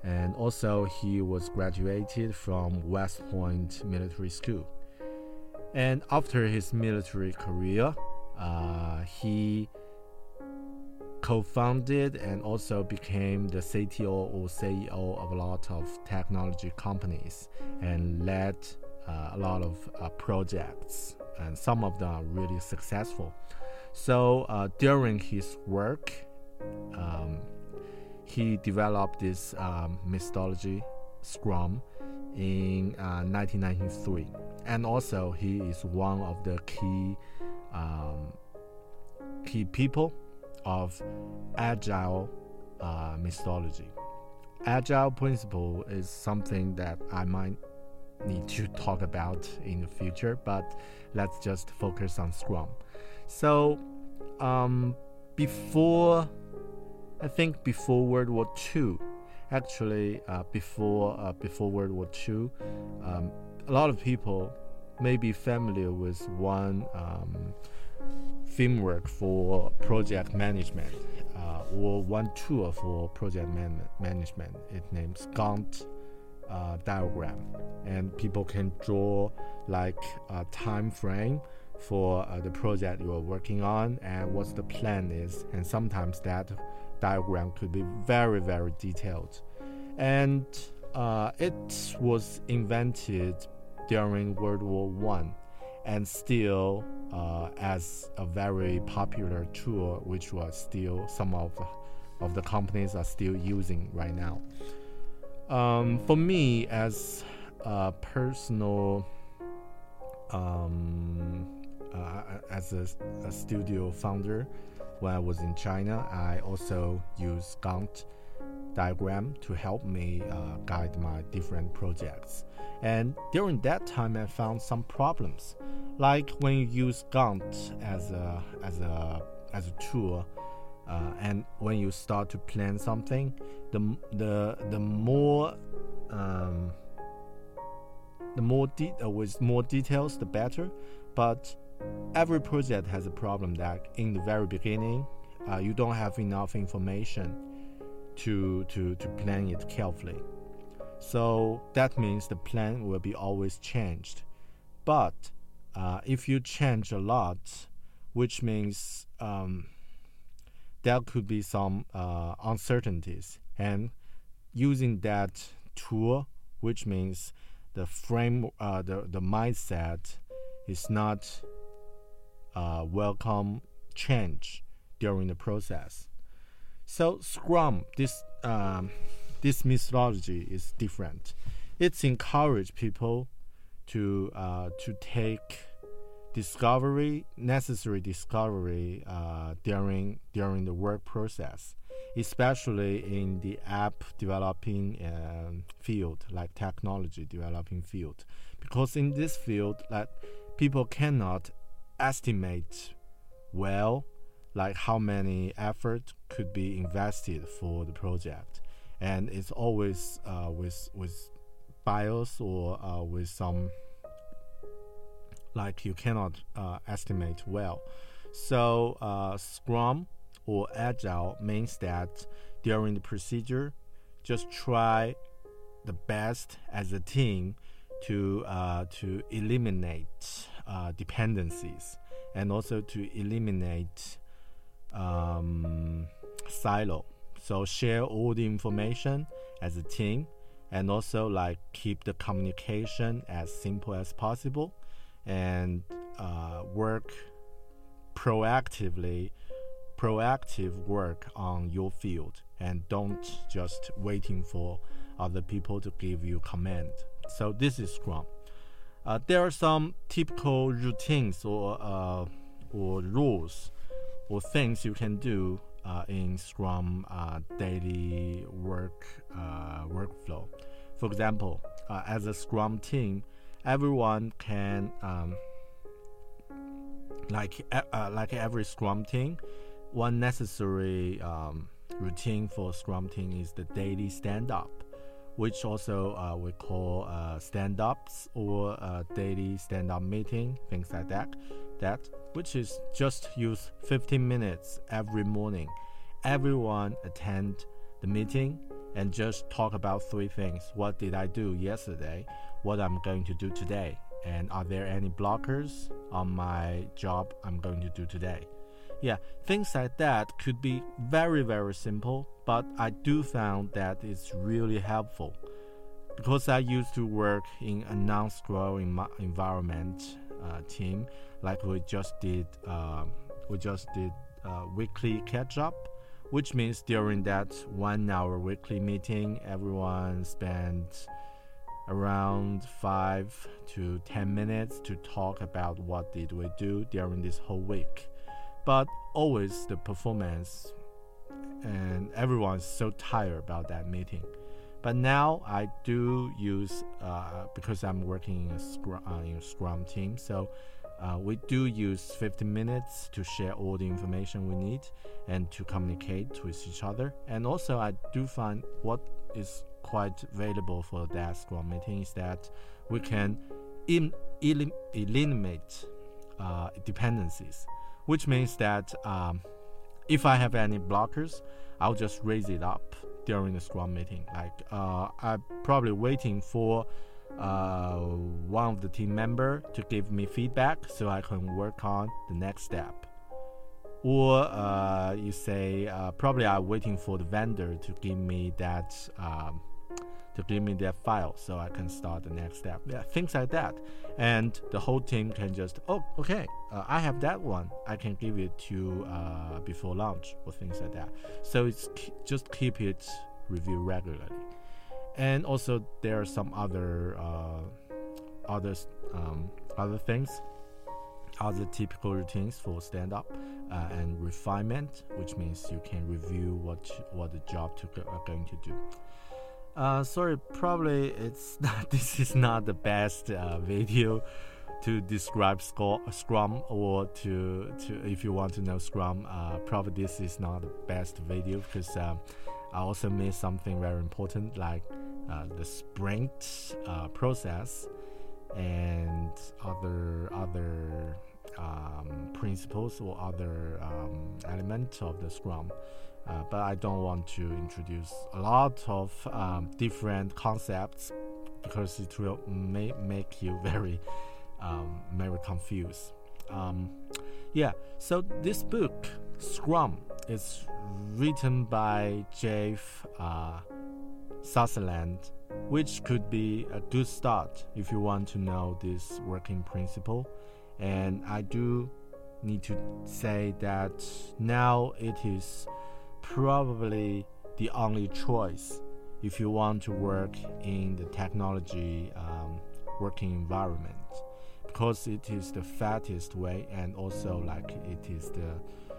And also he was graduated from West Point Military School. And after his military career, uh, he co-founded and also became the C T O or C E O of a lot of technology companies and led uh, a lot of uh, projects, and some of them are really successful. So uh, during his work, um, he developed this um, methodology, Scrum, in uh, nineteen ninety-three. And also he is one of the key um, key people of Agile uh, methodology. Agile principle is something that I might need to talk about in the future, but let's just focus on Scrum. So um, before, I think before World War Two, actually uh, before uh, before World War Two, um, a lot of people may be familiar with one um, framework for project management, uh, or one tool for project man- management. It names Gantt uh, diagram, and people can draw like a time frame for uh, the project you are working on and what the plan is, and sometimes that diagram could be very very detailed. And uh, it was invented during World War One, and still uh, as a very popular tool, which was still some of of the companies are still using right now. Um, for me, as a personal, um, uh, as a, a studio founder, when I was in China, I also use Gantt diagram to help me uh, guide my different projects. And during that time, I found some problems. Like when you use Gantt as a as a as a tool, uh, and when you start to plan something, the the the more um, the more de- uh, with more details, the better. But every project has a problem that in the very beginning, uh, you don't have enough information to to to plan it carefully. So that means the plan will be always changed. But uh, if you change a lot, which means um, there could be some uh, uncertainties. And using that tool, which means the frame, uh, the, the mindset is not uh, welcome change during the process. So Scrum, this um, this methodology is different. It's encourage people to uh, to take discovery, necessary discovery uh, during during the work process, especially in the app developing uh, field, like technology developing field, because in this field, like people cannot estimate well, like how many effort could be invested for the project, and it's always uh, with with bias or uh, with some like you cannot uh, estimate well. So uh, Scrum or Agile means that during the procedure, just try the best as a team to uh, to eliminate uh, dependencies, and also to eliminate um, silo. So share all the information as a team, and also like keep the communication as simple as possible, and uh, work proactively, proactive work on your field, and don't just waiting for other people to give you command. So this is Scrum. Uh, there are some typical routines or uh, or rules or things you can do uh, in Scrum uh, daily work uh, workflow. For example, uh, as a Scrum team, everyone can um, like uh, like every Scrum team, one necessary um, routine for Scrum team is the daily stand-up, which also uh, we call uh, stand-ups or uh, daily stand-up meeting, things like that. That which is just use fifteen minutes every morning. Everyone attend the meeting and just talk about three things. What did I do yesterday? What I'm going to do today? And are there any blockers on my job I'm going to do today? Yeah, things like that could be very, very simple, but I do found that it's really helpful. Because I used to work in a non-Scrum environment uh, team, like we just did, uh, we just did uh, weekly catch-up, which means during that one-hour weekly meeting, everyone spent around five to ten minutes to talk about what did we do during this whole week. But always the performance, and everyone's so tired about that meeting. But now I do use, uh, because I'm working in a Scrum, uh, in a Scrum team, so uh, we do use fifteen minutes to share all the information we need and to communicate with each other. And also I do find what is quite valuable for that Scrum meeting is that we can in, elim, eliminate uh, dependencies, which means that um, if I have any blockers, I'll just raise it up during the Scrum meeting. Like uh, I'm probably waiting for uh, one of the team member to give me feedback so I can work on the next step. Or uh, you say uh, probably I'm waiting for the vendor to give me that um, to give me that file so I can start the next step. Yeah, things like that. And the whole team can just, oh, okay, uh, I have that one. I can give it to uh, before lunch or things like that. So it's just keep it review regularly. And also there are some other uh, other um, other things, other typical routines for stand-up uh, and refinement, which means you can review what what the job to are going to do. Uh, sorry, probably it's not, this is not the best uh, video to describe Scrum, or to, to if you want to know Scrum, uh, probably this is not the best video because um, I also missed something very important like uh, the sprint uh, process and other other um, principles or other um, elements of the Scrum. Uh, but I don't want to introduce a lot of um, different concepts because it will may make you very, um, very confused. Um, yeah, so this book, Scrum, is written by Jeff uh, Sutherland, which could be a good start if you want to know this working principle. And I do need to say that now it is probably the only choice if you want to work in the technology um, working environment, because it is the fastest way and also like it is the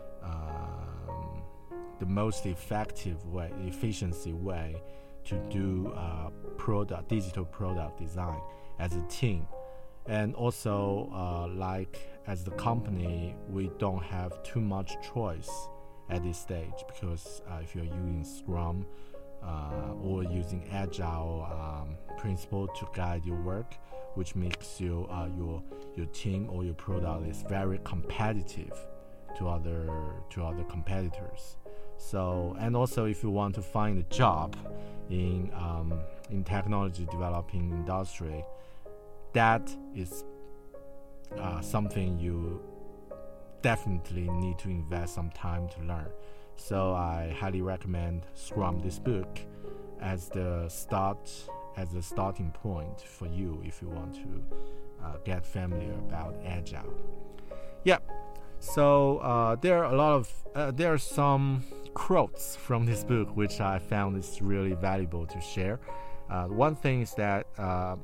um, the most effective way, efficiency way to do uh, product digital product design as a team. And also uh, like as the company, we don't have too much choice at this stage, because uh, if you're using Scrum uh, or using Agile um, principle to guide your work, which makes you uh, your your team or your product is very competitive to other to other competitors. So, and also if you want to find a job in um, in technology developing industry, that is uh, something you definitely need to invest some time to learn. So I highly recommend Scrum, this book, as the start, as a starting point for you if you want to uh, get familiar about Agile. Yeah. So uh, there are a lot of uh, there are some quotes from this book which I found is really valuable to share. Uh, one thing is that uh,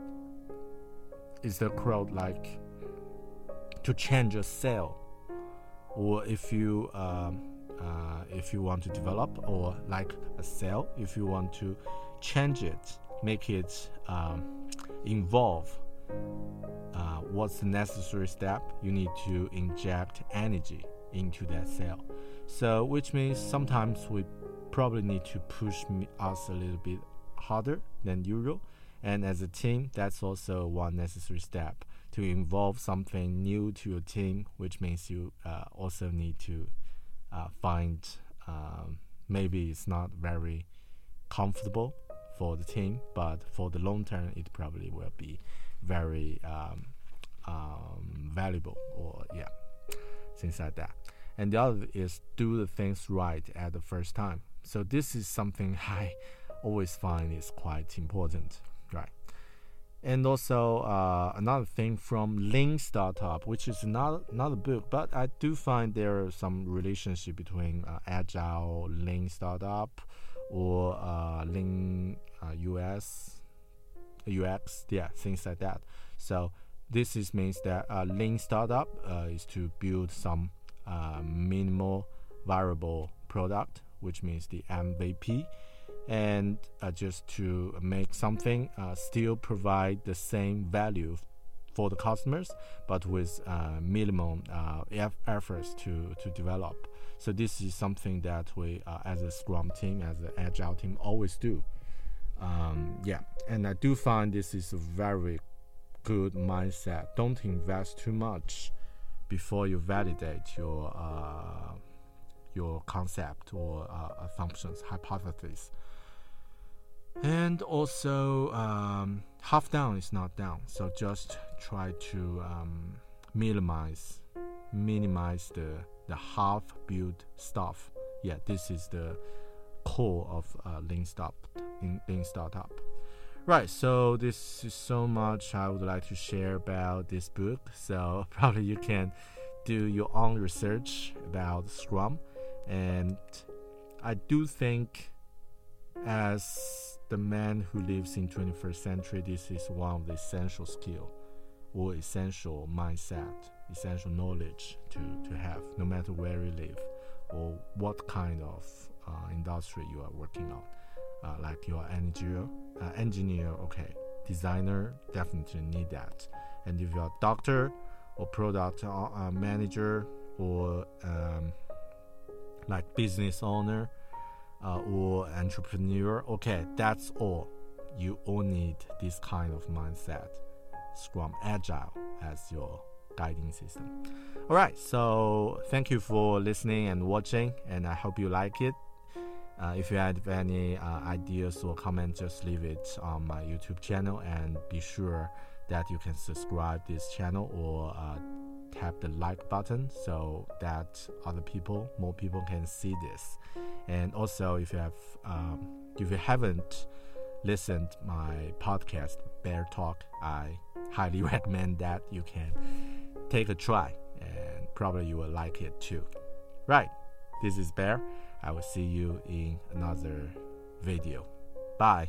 is the quote like, to change a cell, or if you um, uh, if you want to develop, or like a cell, if you want to change it, make it um, involve, uh, what's the necessary step? You need to inject energy into that cell. So which means sometimes we probably need to push us a little bit harder than usual, and as a team, that's also one necessary step to involve something new to your team, which means you uh, also need to uh, find um, maybe it's not very comfortable for the team, but for the long term, it probably will be very um, um, valuable, or yeah, things like that. And the other is do the things right at the first time. So this is something I always find is quite important, right? And also uh, another thing from Lean Startup, which is not another book, but I do find there are some relationship between uh, Agile, Lean Startup, or uh, Lean uh, U S, U X, yeah, things like that. So this is means that uh, Lean Startup uh, is to build some uh, minimal viable product, which means the M V P, and uh, just to make something uh, still provide the same value for the customers, but with uh, minimum uh, efforts to, to develop. So this is something that we uh, as a Scrum team, as an Agile team, always do. Um, yeah, and I do find this is a very good mindset. Don't invest too much before you validate your uh, your concept or uh, assumptions, hypotheses. And also, um, half down is not down. So just try to um, minimize, minimize the the half-built stuff. Yeah, this is the core of uh, Lean Startup. In Lean Startup. Right. So this is so much I would like to share about this book. So probably you can do your own research about Scrum. And I do think as the man who lives in twenty-first century, this is one of the essential skill or essential mindset, essential knowledge to, to have, no matter where you live or what kind of uh, industry you are working on. Uh, like your engineer, uh, engineer, okay, designer, definitely need that. And if you're a doctor or product uh, manager or um, like business owner uh, or entrepreneur, okay, that's all. You all need this kind of mindset, Scrum Agile as your guiding system. All right, so thank you for listening and watching, and I hope you like it. Uh, if you have any uh, ideas or comments, just leave it on my YouTube channel, and be sure that you can subscribe this channel or uh, tap the like button so that other people, more people can see this. And also, if you have, um, if you haven't listened my podcast Bear Talk, I highly recommend that you can take a try, and probably you will like it too. Right, this is Bear. I will see you in another video. Bye.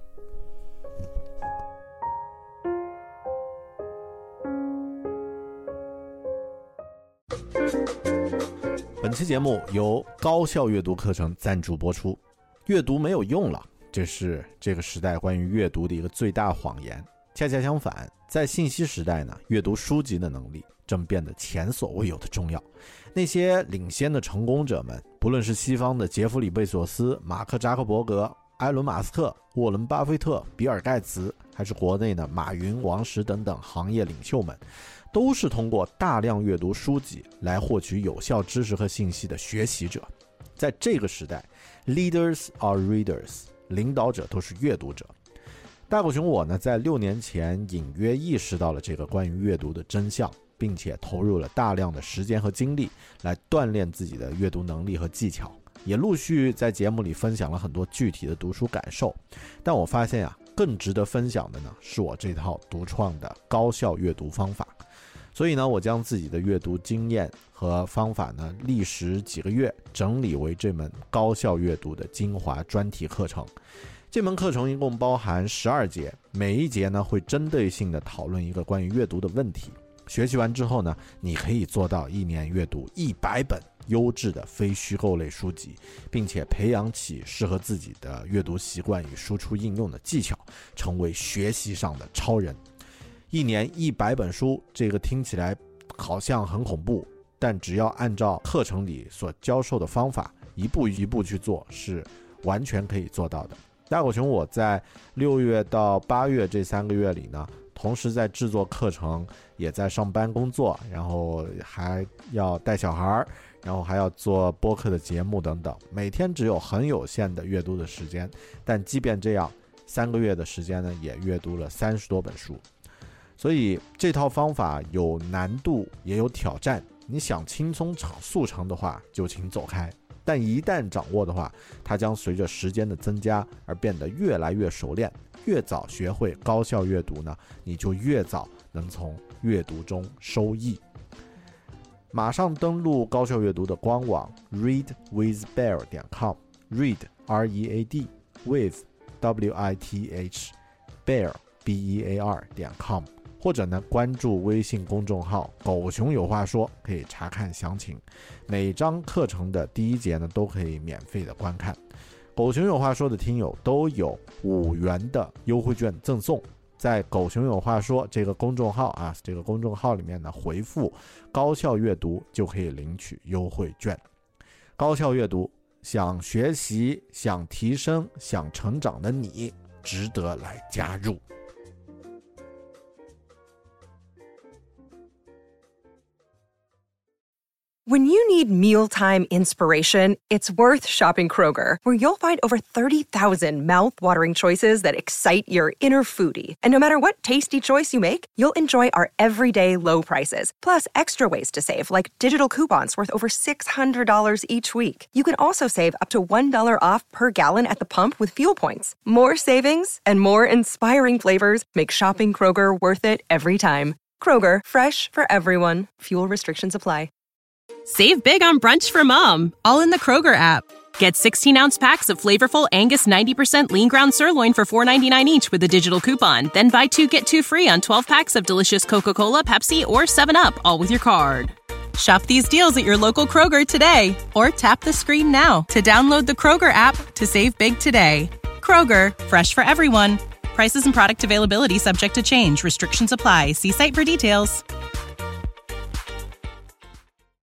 本期节目由高效阅读课程赞助播出。阅读没有用了，这是这个时代关于阅读的一个最大谎言。恰恰相反，在信息时代呢，阅读书籍的能力正变得前所未有的重要。那些领先的成功者们，不论是西方的杰弗里·贝索斯、马克·扎克伯格、埃伦·马斯克、沃伦·巴菲特、比尔·盖茨，还是国内的马云、王石等等行业领袖们，都是通过大量阅读书籍来获取有效知识和信息的学习者。在这个时代 ，leaders are readers， 领导者都是阅读者。大狗熊我呢，在六年前隐约意识到了这个关于阅读的真相，并且投入了大量的时间和精力来锻炼自己的阅读能力和技巧，也陆续在节目里分享了很多具体的读书感受。但我发现啊，更值得分享的呢，是我这套独创的高效阅读方法。所以呢，我将自己的阅读经验和方法呢，历时几个月整理为这门高效阅读的精华专题课程。这门课程一共包含十二节，每一节呢会针对性的讨论一个关于阅读的问题。学习完之后呢，你可以做到一年阅读一百本优质的非虚构类书籍，并且培养起适合自己的阅读习惯与输出应用的技巧，成为学习上的超人。一年一百本书，这个听起来好像很恐怖，但只要按照课程里所教授的方法一步一步去做，是完全可以做到的。大狗熊我在六月到八月这三个月里呢，同时在制作课程，也在上班工作，然后还要带小孩， 然后还要做播客的节目等等，每天只有很有限的阅读的时间，但即便这样，三个月的时间呢，也阅读了三十多本书。所以这套方法有难度也有挑战，你想轻松速成的话就请走开，但一旦掌握的话，它将随着时间的增加而变得越来越熟练。越早学会高效阅读呢，你就越早能从阅读中收益。马上登录高效阅读的官网 read with bear 点 com， read R E A D with W I T H bear B E A R 点 com， 或者呢关注微信公众号狗熊有话说，可以查看详情。每章课程的第一节呢都可以免费的观看。狗熊有话说的听友都有五元的优惠券赠送，在狗熊有话说这个公众号啊，这个公众号里面呢回复高效阅读就可以领取优惠券。高效阅读，想学习、想提升、想成长的你，值得来加入。 When you need mealtime inspiration, it's worth shopping Kroger, where you'll find over thirty thousand mouth-watering choices that excite your inner foodie. And no matter what tasty choice you make, you'll enjoy our everyday low prices, plus extra ways to save, like digital coupons worth over six hundred dollars each week. You can also save up to one dollar off per gallon at the pump with fuel points. More savings and more inspiring flavors make shopping Kroger worth it every time. Kroger, fresh for everyone. Fuel restrictions apply. Save big on brunch for mom, all in the Kroger app. Get sixteen-ounce packs of flavorful Angus ninety percent lean ground sirloin for four ninety-nine each with a digital coupon. Then buy two, get two free on twelve packs of delicious Coca-Cola, Pepsi, or seven up, all with your card. Shop these deals at your local Kroger today, or tap the screen now to download the Kroger app to save big today. Kroger, fresh for everyone. Prices and product availability subject to change. Restrictions apply. See site for details.